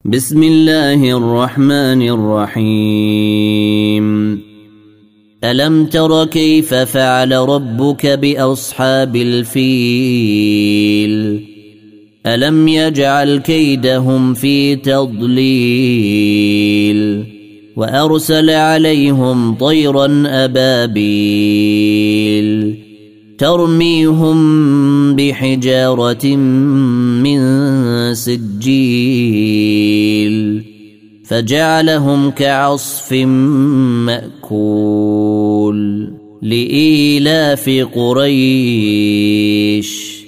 بسم الله الرحمن الرحيم ألم تر كيف فعل ربك بأصحاب الفيل ألم يجعل كيدهم في تضليل وأرسل عليهم طيرا أبابيل ترميهم بحجارة من سجيل فجعلهم كعصف مأكول لإيلاف قريش